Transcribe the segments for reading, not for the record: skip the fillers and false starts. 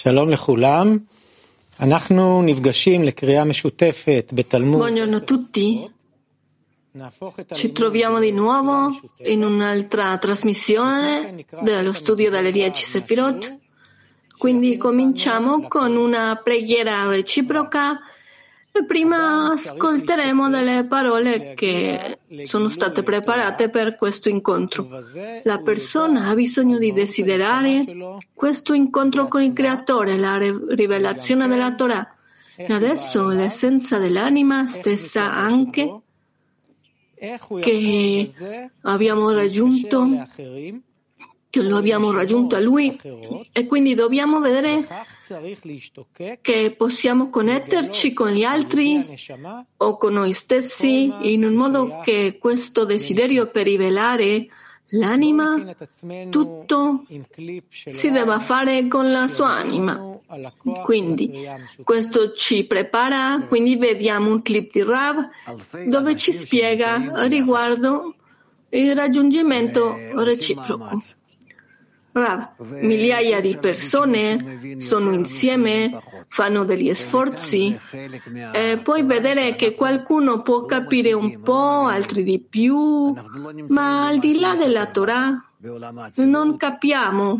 שלום לכולם, אנחנו נפגשים לקריאה משותפת בתלמוד. Buongiorno a tutti, ci troviamo di nuovo in un'altra trasmissione dello studio delle 10 Sefirot. Quindi cominciamo con una preghiera reciproca e prima ascolteremo delle parole che sono state preparate per questo incontro. La persona ha bisogno di desiderare questo incontro con il Creatore, la rivelazione della Torah. E adesso l'essenza dell'anima stessa anche che lo abbiamo raggiunto a Lui, e quindi dobbiamo vedere che possiamo connetterci con gli altri o con noi stessi in un modo che questo desiderio per rivelare l'anima, tutto si debba fare con la sua anima. Quindi questo ci prepara, quindi vediamo un clip di Rav dove ci spiega riguardo il raggiungimento reciproco. Rav, migliaia di persone sono insieme, fanno degli sforzi e puoi vedere che qualcuno può capire un po', altri di più, ma al di là della Torah non capiamo,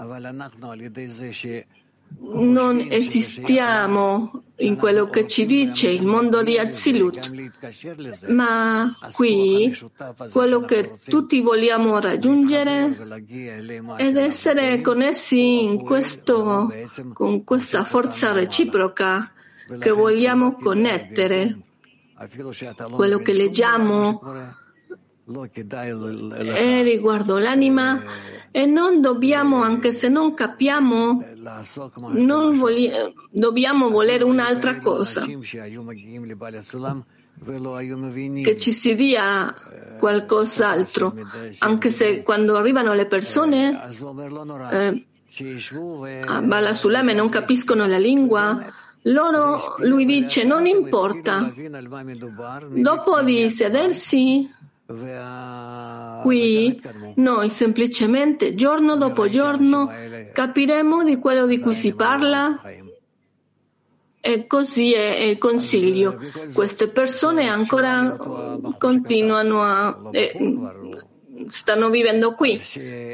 non esistiamo in quello che ci dice il mondo di Azilut, ma qui quello che tutti vogliamo raggiungere ed essere connessi con questa forza reciproca che vogliamo connettere. Quello che leggiamo è riguardo l'anima e non dobbiamo, anche se non capiamo, dobbiamo volere un'altra cosa, che ci si dia qualcos'altro, anche se quando arrivano le persone a Bala Sulame non capiscono la lingua, lui dice non importa, dopo di sedersi qui noi semplicemente giorno dopo giorno capiremo di quello di cui si parla, e così è il consiglio. Queste persone ancora continuano stanno vivendo qui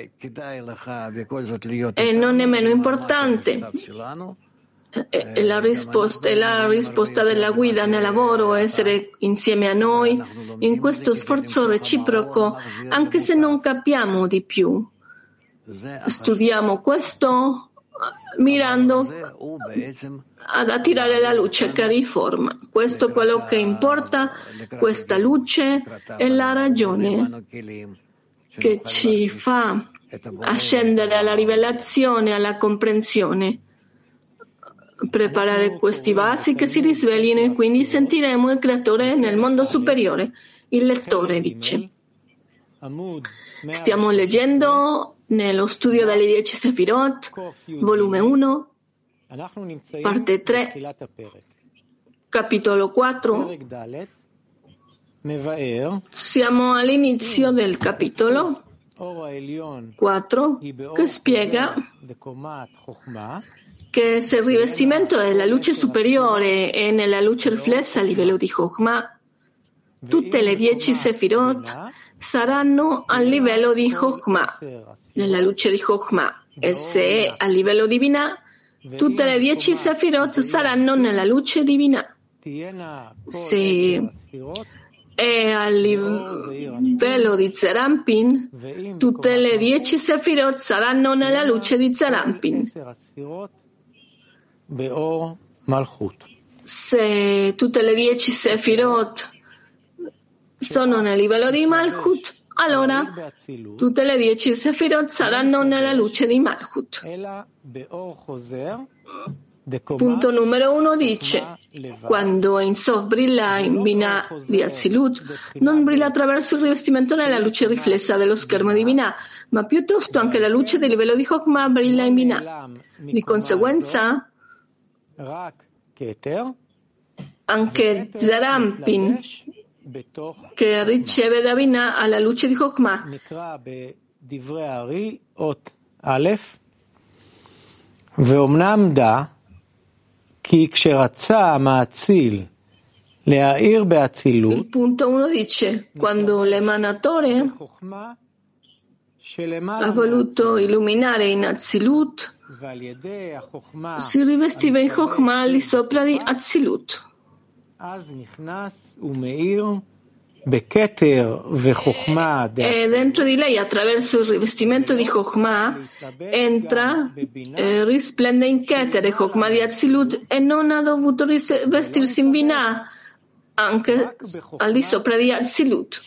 e non è meno importante. E la risposta della guida nel lavoro, essere insieme a noi in questo sforzo reciproco, anche se non capiamo di più. Studiamo questo mirando ad attirare la luce che riforma. Questo è quello che importa, questa luce è la ragione che ci fa ascendere alla rivelazione, alla comprensione. Preparare questi vasi che si risveglino e quindi sentiremo il Creatore nel mondo superiore. Il lettore dice: stiamo leggendo nello studio delle 10 Sefirot, volume 1, parte 3, capitolo 4. Siamo all'inizio del capitolo 4 che spiega che se il rivestimento della luce superiore è nella luce riflessa a livello di Chokhmah, tutte le 10 Sefirot saranno a livello di Chokhmah, nella luce di Chokhmah, e se è a livello di Binah, tutte le 10 Sefirot saranno nella luce di Binah. Se è a livello di Zerampin, tutte le 10 Sefirot saranno nella luce di Zerampin. Se tutte le 10 Sefirot sono nel livello di Malchut, allora tutte le 10 Sefirot saranno nella luce di Malchut. Punto numero 1 dice: quando Ein Sof brilla in Binah di Azilut, non brilla attraverso il rivestimento nella luce riflessa dello schermo di Binah, ma piuttosto anche la luce del livello di Chokhmah brilla in Binah. Di conseguenza, anche Zerampin, che riceve da Binah alla luce di Chokhmah, Il punto 1 dice, quando l'emanatore ha voluto illuminare in Atzilut, si rivestiva in Chokhmah al di sopra di Atzilut. E dentro di lei, attraverso il rivestimento di Chokhmah, entra, risplende in Keter e Chokhmah di Atzilut, e non ha dovuto rivestirsi in Binah, anche al di sopra di Atzilut.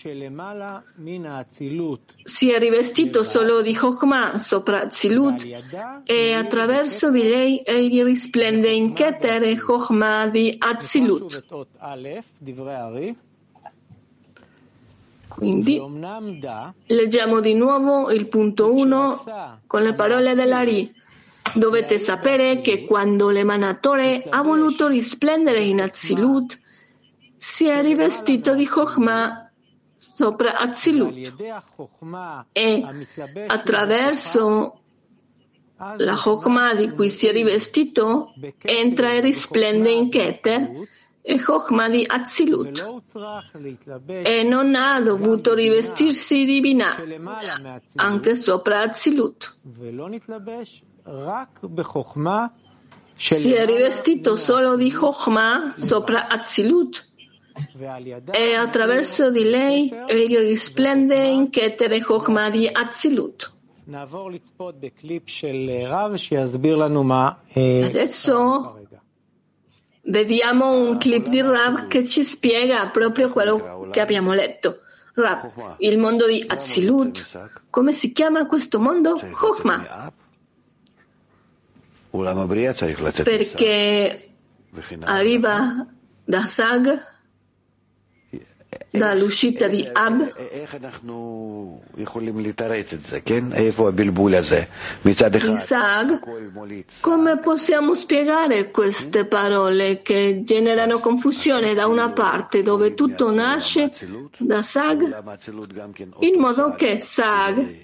Si è rivestito solo di Chokhmah sopra Atzilut, e attraverso di lei egli risplende in Keter e Chokhmah di Atzilut. Quindi leggiamo di nuovo il punto 1 con le parole dell'Ari. Dovete sapere che quando l'emanatore ha voluto risplendere in Atzilut, si è rivestito di Chokhmah sopra Atzilut, e attraverso la Chokhmah di cui si è rivestito entra e risplende in Keter e Chokhmah di Atzilut, e non ha dovuto rivestirsi di Binah anche sopra Atzilut. Si è rivestito solo di Chokhmah sopra Atzilut, e attraverso di lei egli risplende in Keter e Chokhmah di Atzilut. Adesso vediamo un clip di Rav che ci spiega proprio quello che abbiamo letto. Rav, il mondo di Atzilut, come si chiama questo mondo? Chokhmah. Perché arriva da Sag, dall'uscita di Ab. In Sag, come possiamo spiegare queste parole che generano confusione da una parte dove tutto nasce da Sag, in modo che Sag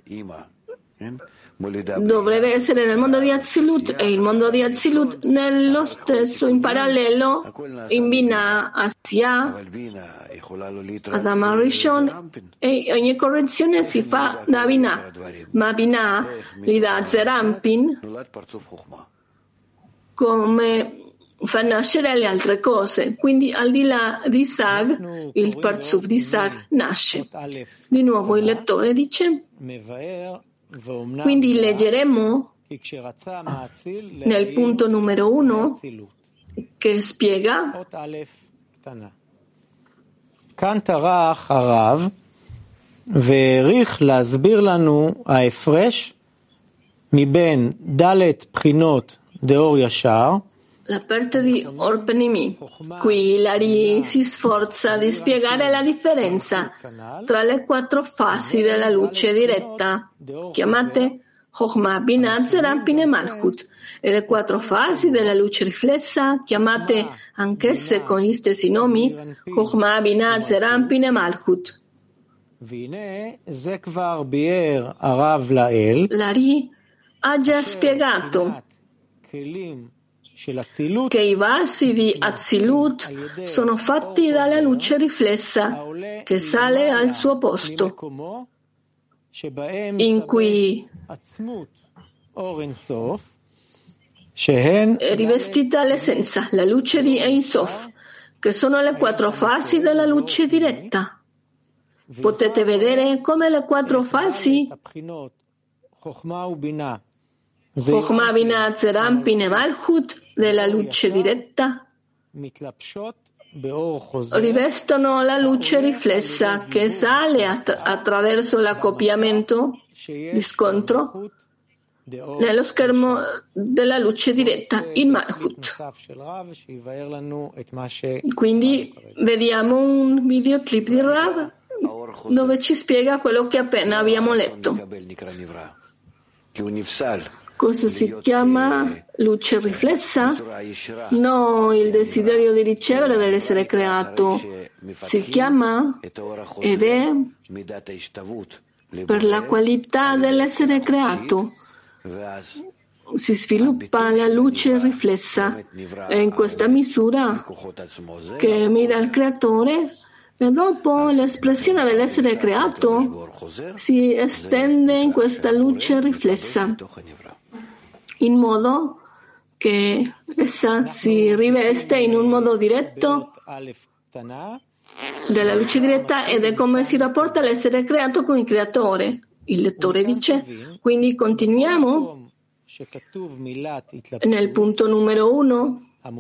dovrebbe essere nel mondo di Atzilut e il mondo di Atzilut nello stesso, in parallelo, in Binah, Asiyah, Adama Rishon, e ogni correzione si fa da Binah, ma Binah gli dà Zerampin come fa nascere le altre cose. Quindi al di là di Sag, il Parzuf di Sag nasce. Di nuovo il lettore dice: quindi leggeremo nel punto numero 1 che spiega כאן טרח הרב והעריך להסביר לנו ההפרש מבין ד' בחינות דאור ישר. La parte di Orpenimi. Qui Lari si sforza di spiegare la differenza tra le 4 fasi della luce diretta, chiamate Chokhmah, Binah, Zerampin e Malchut, e le 4 fasi della luce riflessa, chiamate anch'esse con gli stessi nomi, Chokhmah, Binah, Zerampin e Malchut. Lari ha già spiegato che i vasi di Atzilut sono fatti dalla luce riflessa che sale al suo posto, in cui è rivestita l'essenza, la luce di Ein Sof, che sono le 4 fasi della luce diretta. Potete vedere come le 4 fasi, Chokhmah, Binah, Zerampin e Malchut, della luce diretta, rivestono la luce riflessa che sale attraverso l'accoppiamento di scontro nello schermo della luce diretta in Malchut. Quindi vediamo un videoclip di Rav dove ci spiega quello che appena abbiamo letto. Cosa si chiama luce riflessa? No, il desiderio di ricevere dell'essere creato. Si chiama ed è per la qualità dell'essere creato. si sviluppa la luce riflessa. È in questa misura che mira il creatore e dopo l'espressione dell'essere creato si estende in questa luce riflessa, in modo che essa si riveste in un modo diretto della luce diretta ed è come si rapporta l'essere creato con il creatore. Il lettore dice, quindi continuiamo nel punto numero 1.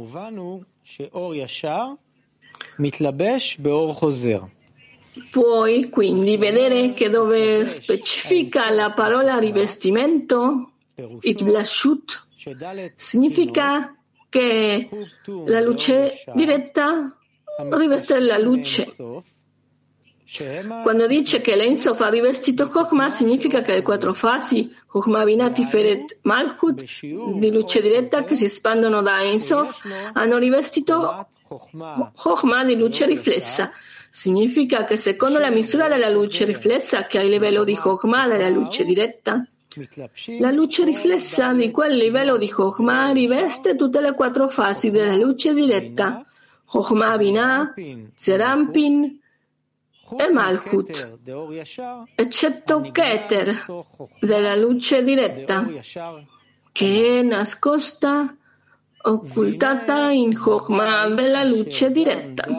Puoi quindi vedere che dove specifica la parola rivestimento, Itblashut, significa che la luce diretta riveste la luce. Quando dice che l'Ein Sof ha rivestito Chokhmah, significa che le 4 fasi, Chokhmah, Binah, Tiferet, Malchut, di luce diretta che si espandono da Ein Sof, hanno rivestito Chokhmah di luce riflessa. Significa che secondo la misura della luce riflessa che ha il livello di Chokhmah della luce diretta, la luce riflessa di quel livello di Chokhmah riveste tutte le 4 fasi della luce diretta, Chokhmah, Binah, Zerampin e Malchut, eccetto Keter della luce diretta, che è nascosta, occultata in Chokhmah della luce diretta.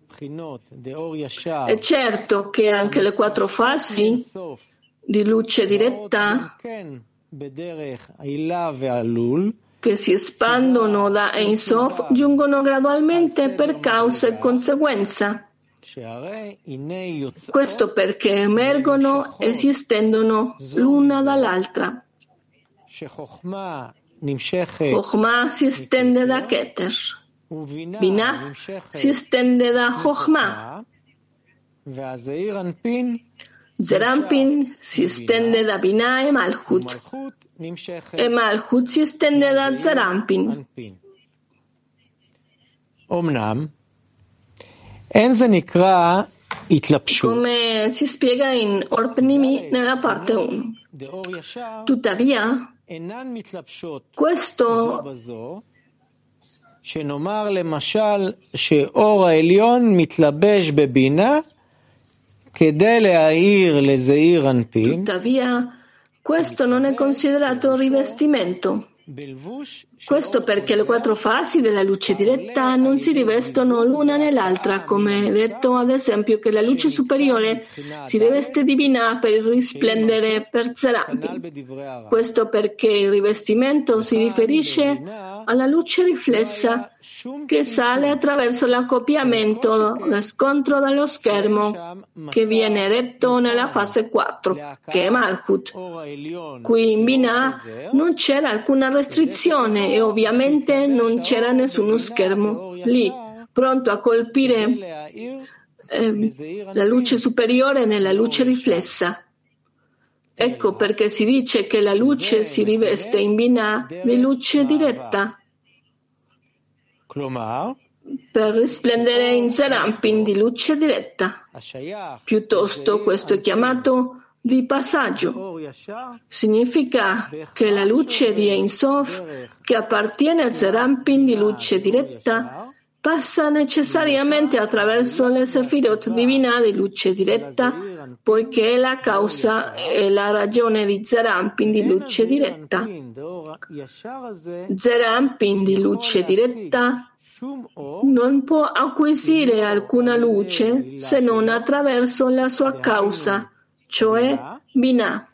È certo che anche le 4 fasi di luce diretta che si espandono da Ein Sof giungono gradualmente per causa e conseguenza. Questo perché emergono e si estendono l'una dall'altra. Chokhmah si estende da Keter, Binah si estende da Chokhmah, Zerampin si estende da Binah e Malchut si estende da Zerampin. Come si spiega in Or Pnimi nella parte 1. Tuttavia, questo שנאמר למשל שאור העליון מתלבש בבינה כדי להאיר לזעיר אנפין. Tuttavia, questo non è considerato rivestimento. Questo perché le 4 fasi della luce diretta non si rivestono l'una nell'altra, come detto ad esempio che la luce superiore si riveste di Binah per risplendere per Zerampin. Questo perché il rivestimento si riferisce alla luce riflessa che sale attraverso l'accoppiamento da scontro dallo schermo che viene detto nella fase 4, che è Malchut. Qui in Binah non c'era alcuna restrizione e ovviamente non c'era nessuno schermo lì, pronto a colpire la luce superiore nella luce riflessa. Ecco perché si dice che la luce si riveste in Binah di luce diretta, per risplendere in Zerampin di luce diretta. Piuttosto questo è chiamato di passaggio. Significa che la luce di Ein Sof, che appartiene a Zerampin di luce diretta, passa necessariamente attraverso le Sefirot divina di luce diretta, poiché è la causa e la ragione di Zerampin di luce diretta. Zerampin di luce diretta non può acquisire alcuna luce se non attraverso la sua causa, cioè Binah.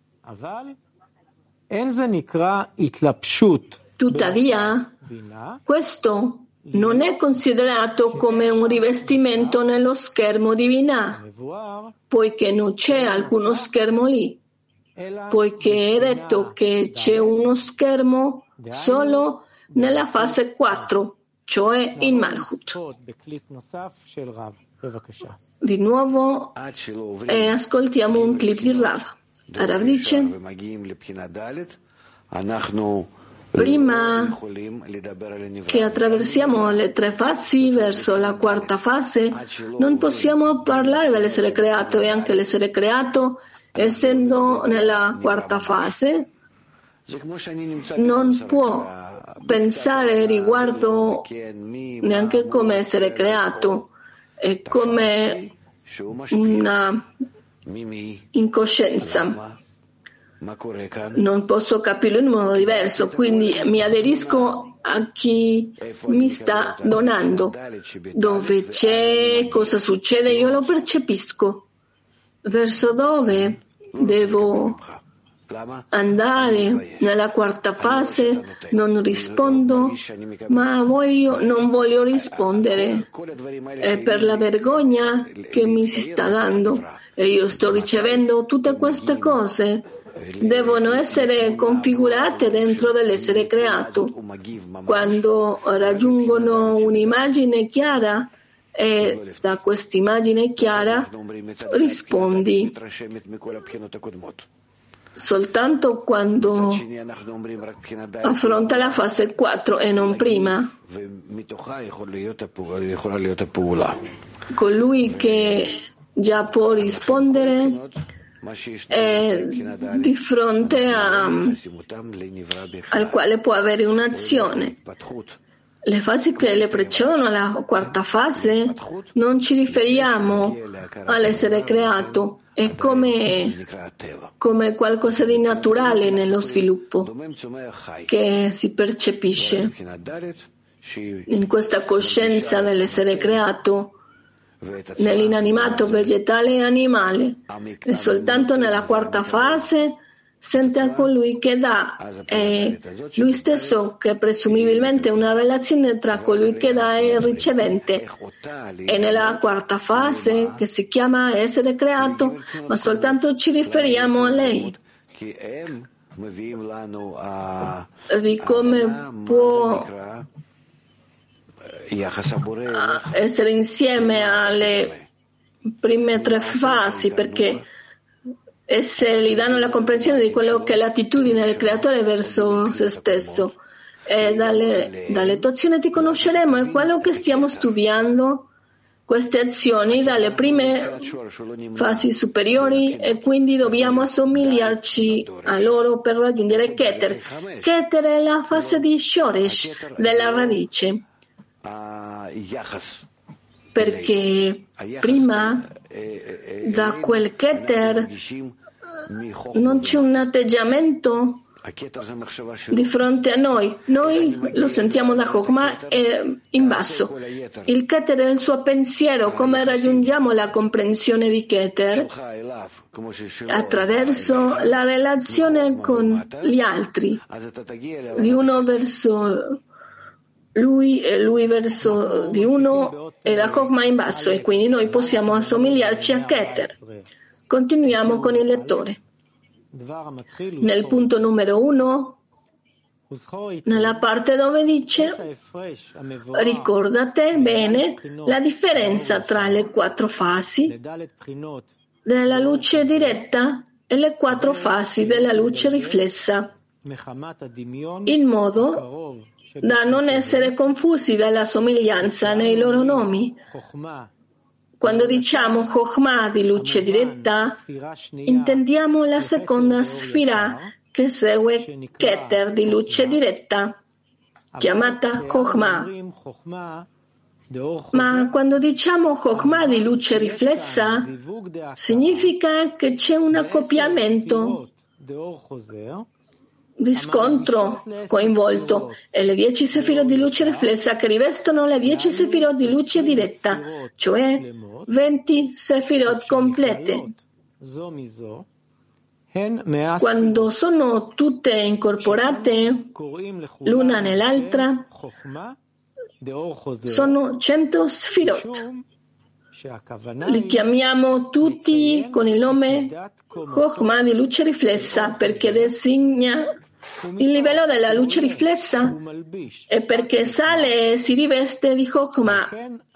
Tuttavia, questo non è considerato come un rivestimento nello schermo di Binah, poiché non c'è alcuno schermo lì, poiché è detto che c'è uno schermo solo nella fase 4, cioè in Malchut. Di nuovo ascoltiamo un clip di Rav. Rav dice: prima che attraversiamo le 3 fasi verso la 4ª fase, non possiamo parlare dell'essere creato, e anche l'essere creato, essendo nella 4ª fase, non può pensare riguardo neanche come essere creato, è come una incoscienza. Non posso capirlo in modo diverso, quindi mi aderisco a chi mi sta donando. Dove c'è, cosa succede, io lo percepisco. Verso dove devo andare nella quarta fase, non rispondo, ma non voglio rispondere. È per la vergogna che mi si sta dando e io sto ricevendo tutte queste cose. Devono essere configurate dentro dell'essere creato. Quando raggiungono un'immagine chiara e da quest'immagine chiara rispondi. Soltanto quando affronta la fase 4 e non prima. Colui che già può rispondere è di fronte al quale può avere un'azione. Le fasi che le precedono la quarta fase non ci riferiamo all'essere creato, è come qualcosa di naturale nello sviluppo che si percepisce in questa coscienza dell'essere creato, nell'inanimato vegetale e animale, e soltanto nella quarta fase sente a colui che dà e lui stesso, che presumibilmente è una relazione tra colui che dà e il ricevente. E nella quarta fase, che si chiama essere creato, ma soltanto ci riferiamo a lei. Di come può essere insieme alle prime 3 fasi, perché esse gli danno la comprensione di quello che è l'attitudine del creatore verso se stesso. E dalle tue azioni ti conosceremo, è quello che stiamo studiando, queste azioni dalle prime fasi superiori, e quindi dobbiamo assomigliarci a loro per raggiungere Keter. Keter è la fase di Shoresh, della radice, perché prima da quel Keter non c'è un atteggiamento di fronte a noi lo sentiamo da Chokhmah in basso. Il Keter è il suo pensiero. Come raggiungiamo la comprensione di Keter? Attraverso la relazione con gli altri, di uno verso lui e lui verso di uno, e da Chokhmah in basso, e quindi noi possiamo assomigliarci a Keter. Continuiamo con il lettore. Nel punto numero 1, nella parte dove dice: ricordate bene la differenza tra le 4 fasi della luce diretta e le 4 fasi della luce riflessa, in modo da non essere confusi dalla somiglianza nei loro nomi. Quando diciamo Chokhmah di luce diretta, intendiamo la seconda sfira che segue Keter di luce diretta, chiamata Chokhmah. Ma quando diciamo Chokhmah di luce riflessa, significa che c'è un accoppiamento di scontro coinvolto, e le 10 sefirot di luce riflessa che rivestono le 10 sefirot di luce diretta, cioè 20 sefirot complete. Quando sono tutte incorporate l'una nell'altra, sono 100 sefirot. Li chiamiamo tutti con il nome Chokhmah di luce riflessa, perché designa il livello della luce riflessa e perché sale e si riveste di Chokhmah.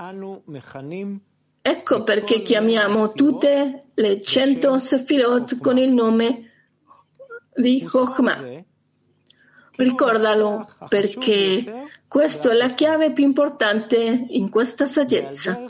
Ecco perché chiamiamo tutte le 100 sefirot con il nome di Chokhmah. Ricordalo, perché questa è la chiave più importante in questa saggezza.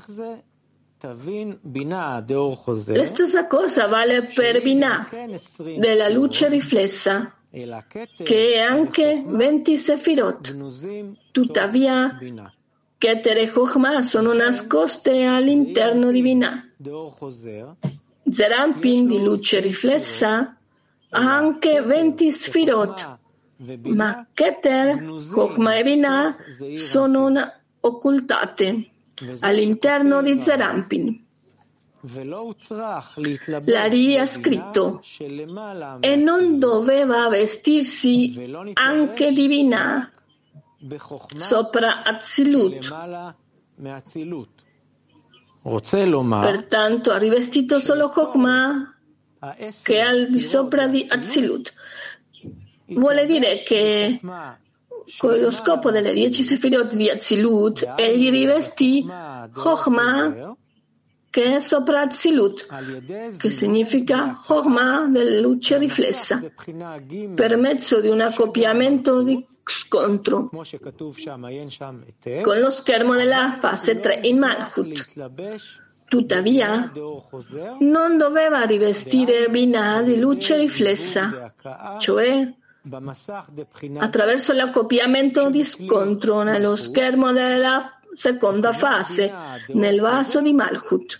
La stessa cosa vale per Binah, della luce riflessa. che è anche 20 Sefirot. Tuttavia, Keter e Chokhmah sono nascoste all'interno di Binah. Zeir Anpin, di luce riflessa, ha anche 20 Sfirot, ma Keter, Chokhmah e Binah sono occultate all'interno di Zeir Anpin. L'Ari ha scritto: e non doveva vestirsi anche di Binah sopra Atzilut. Pertanto ha rivestito solo Chokhmah che è al di sopra di Atzilut. Vuole dire che con lo scopo delle 10 Sefirot di Atzilut egli rivestì Chokhmah che è sopra Atzilut, che significa Chokhmah della luce riflessa, per mezzo di un accoppiamento di scontro con lo schermo della fase 3 in Malchut. Tuttavia, non doveva rivestire Binah di luce riflessa, cioè attraverso l'accoppiamento di scontro nello schermo della seconda fase, nel vaso di Malchut.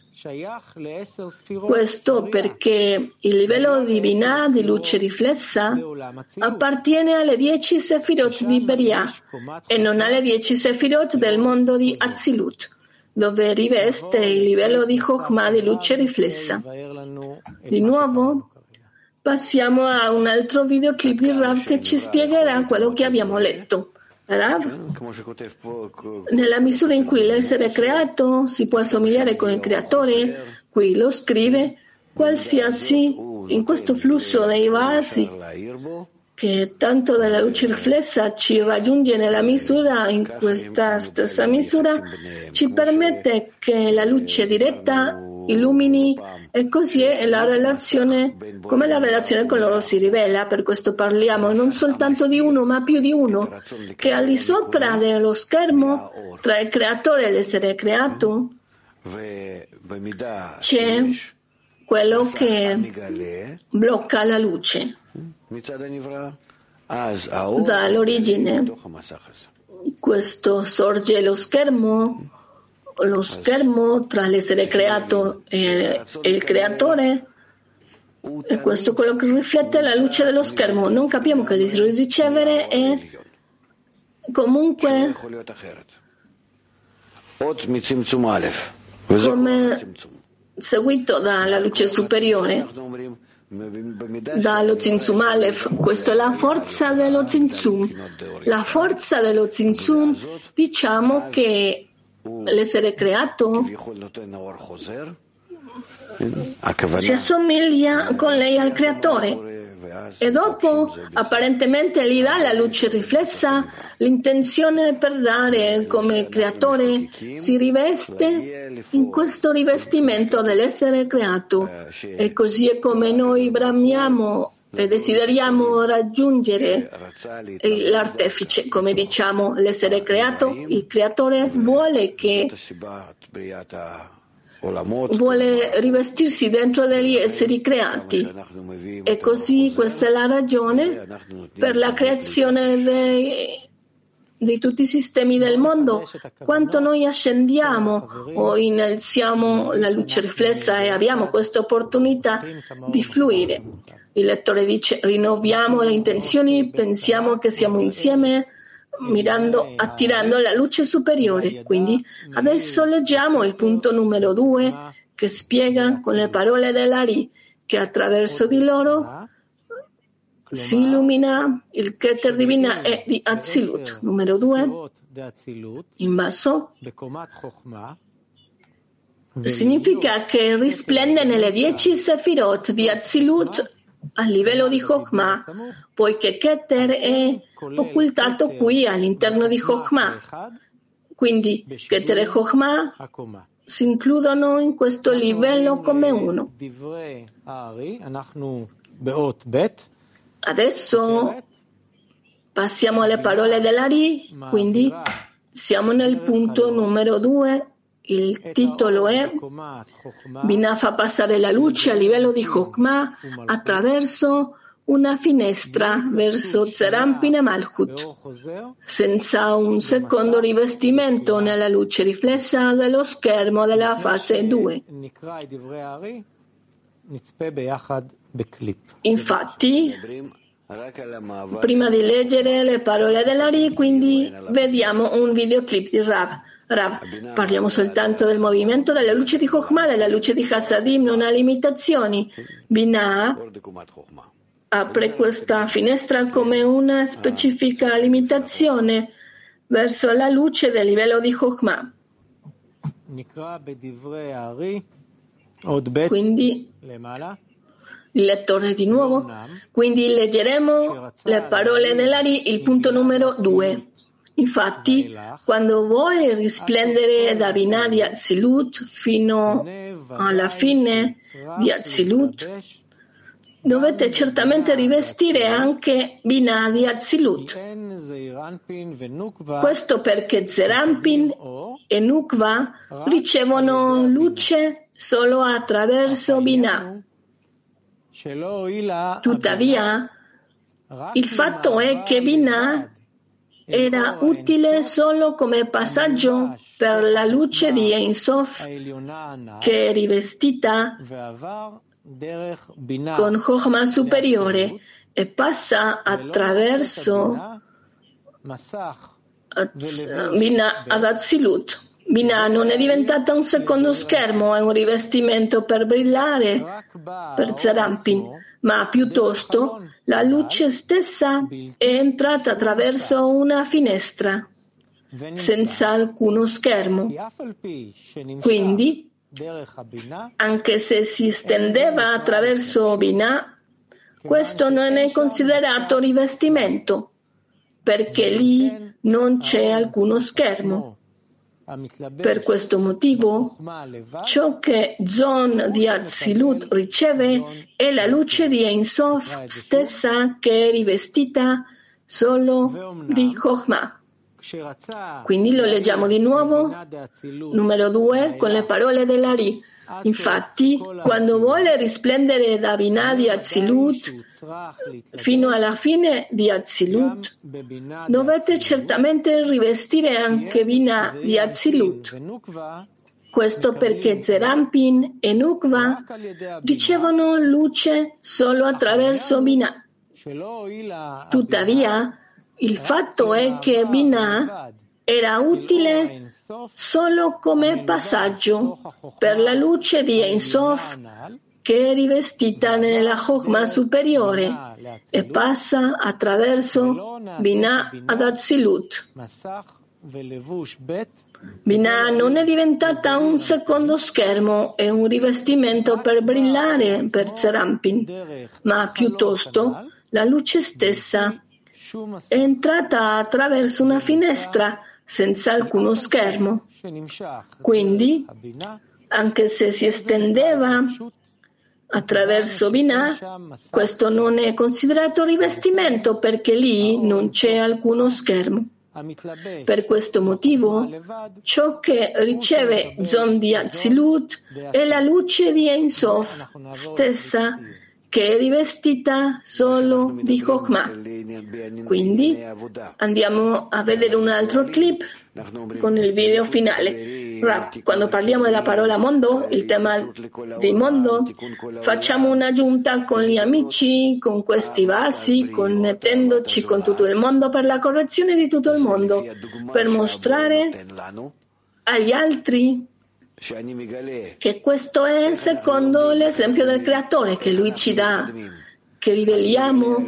Questo perché il livello di Binah di luce riflessa appartiene alle 10 Sefirot di Beria e non alle 10 Sefirot del mondo di Atzilut, dove riveste il livello di Chokhmah di luce riflessa. Di nuovo, passiamo a un altro videoclip di Rav che ci spiegherà quello che abbiamo letto. Rav, nella misura in cui l'essere creato si può assomigliare con il creatore, qui lo scrive, qualsiasi in questo flusso dei vasi che tanto dalla luce riflessa ci raggiunge nella misura, in questa stessa misura ci permette che la luce diretta illumini, e così è la relazione, come la relazione con loro si rivela. Per questo parliamo non soltanto di uno, ma più di uno, che al di sopra dello schermo tra il creatore e l'essere creato c'è quello che blocca la luce dall'origine. Questo sorge lo schermo tra l'essere creato e il creatore, e questo è quello che riflette la luce dello schermo. Non capiamo che ricevere e comunque come seguito dalla luce superiore, dallo Tzimtzum Aleph. Questa è la forza dello Tzimtzum. La forza dello Tzimtzum, diciamo che l'essere creato si assomiglia con lei al creatore e dopo apparentemente gli dà la luce riflessa l'intenzione per dare come creatore, si riveste in questo rivestimento dell'essere creato, e così è come noi bramiamo e desideriamo raggiungere l'artefice, come diciamo l'essere creato. Il creatore vuole rivestirsi dentro degli esseri creati, e così questa è la ragione per la creazione di tutti i sistemi del mondo. Quanto noi ascendiamo o innalziamo la luce riflessa e abbiamo questa opportunità di fluire. Il lettore dice: rinnoviamo le intenzioni, pensiamo che siamo insieme, attirando la luce superiore. Quindi adesso leggiamo il punto numero 2, che spiega con le parole dell'Ari che attraverso di loro si illumina il Keter di Binah e di Atzilut. Numero 2, in basso, significa che risplende nelle 10 Sefirot di Atzilut a livello di Chokhmah, poiché Keter è occultato qui all'interno di Chokhmah. Quindi Keter e Chokhmah si includono in questo livello come uno. Adesso passiamo alle parole dell'Ari, quindi siamo nel punto numero 2. Il titolo è Binah fa passare la luce a livello di Chokhmah attraverso una finestra verso Zerampin e Malchut, senza un secondo rivestimento nella luce riflessa dello schermo della fase 2. Infatti, prima di leggere le parole dell'Ari, quindi vediamo un videoclip di Rav. Parliamo soltanto del movimento della luce di Chokhmah, della luce di Hasadim, non ha limitazioni. Binah apre questa finestra come una specifica limitazione verso la luce del livello di Chokhmah. Quindi il lettore di nuovo. Quindi leggeremo le parole dell'Ari, il punto numero 2. Infatti, quando vuole risplendere da Binah di Atzilut fino alla fine di Atzilut, dovete certamente rivestire anche Binah di Atzilut. Questo perché Zerampin e Nukva ricevono luce solo attraverso Binah. Tuttavia, il fatto è che Binah era utile solo come passaggio per la luce di Ein Sof, che è rivestita con Chokhmah superiore e passa attraverso Binah ad Atzilut. Binah non è diventata un secondo schermo, è un rivestimento per brillare per Zerampin, ma piuttosto la luce stessa è entrata attraverso una finestra, senza alcuno schermo. Quindi, anche se si stendeva attraverso Binah, questo non è considerato rivestimento, perché lì non c'è alcuno schermo. Per questo motivo, ciò che Zon di Atzilut riceve è la luce di Ein Sof stessa, che è rivestita solo di Chokhmah. Quindi lo leggiamo di nuovo, numero 2, con le parole dell'Ari. Infatti, quando vuole risplendere da Binah di Atzilut fino alla fine di Atzilut, dovete certamente rivestire anche Binah di Atzilut. Questo perché Zerampin e Nukva ricevono luce solo attraverso Binah. Tuttavia, il fatto è che Binah era utile solo come passaggio per la luce di Ein Sof, che è rivestita nella Chokhmah superiore e passa attraverso Binah ad Atzilut. Binah non è diventata un secondo schermo e un rivestimento per brillare per Zerampin, ma piuttosto la luce stessa è entrata attraverso una finestra senza alcuno schermo. Quindi, anche se si estendeva attraverso Binah, questo non è considerato rivestimento perché lì non c'è alcuno schermo. Per questo motivo, ciò che riceve Zon di Atzilut è la luce di Ein Sof stessa, che è rivestita solo di Chokhmah. Quindi andiamo a vedere un altro clip con il video finale. Quando parliamo della parola mondo, il tema di mondo, facciamo un'aggiunta con gli amici, con questi vasi, connettendoci con tutto il mondo per la correzione di tutto il mondo, per mostrare agli altri che questo è secondo l'esempio del Creatore che Lui ci dà, che riveliamo,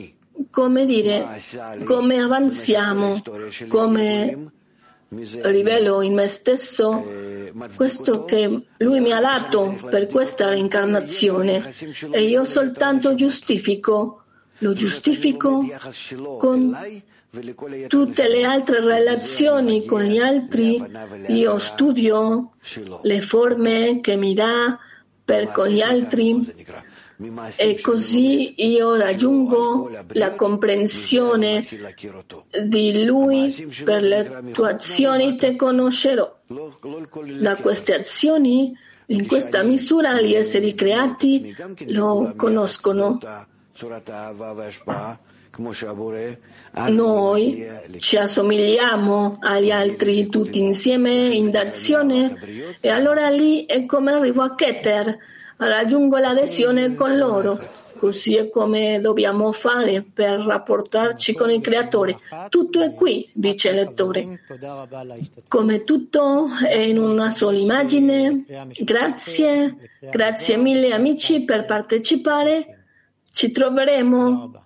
come avanziamo, come rivelo in me stesso questo che Lui mi ha dato per questa reincarnazione e io soltanto lo giustifico con tutte le altre relazioni con gli altri. Io studio le forme che mi dà con gli altri e così io raggiungo la comprensione di Lui. Per le tue azioni te conoscerò. Da queste azioni, in questa misura, gli esseri creati lo conoscono. Noi ci assomigliamo agli altri tutti insieme in azione e allora lì è come arrivo a Keter, raggiungo l'adesione con loro. Così è come dobbiamo fare per rapportarci con il Creatore. Tutto è qui, dice il lettore. Come tutto è in una sola immagine. Grazie mille amici per partecipare. Ci troveremo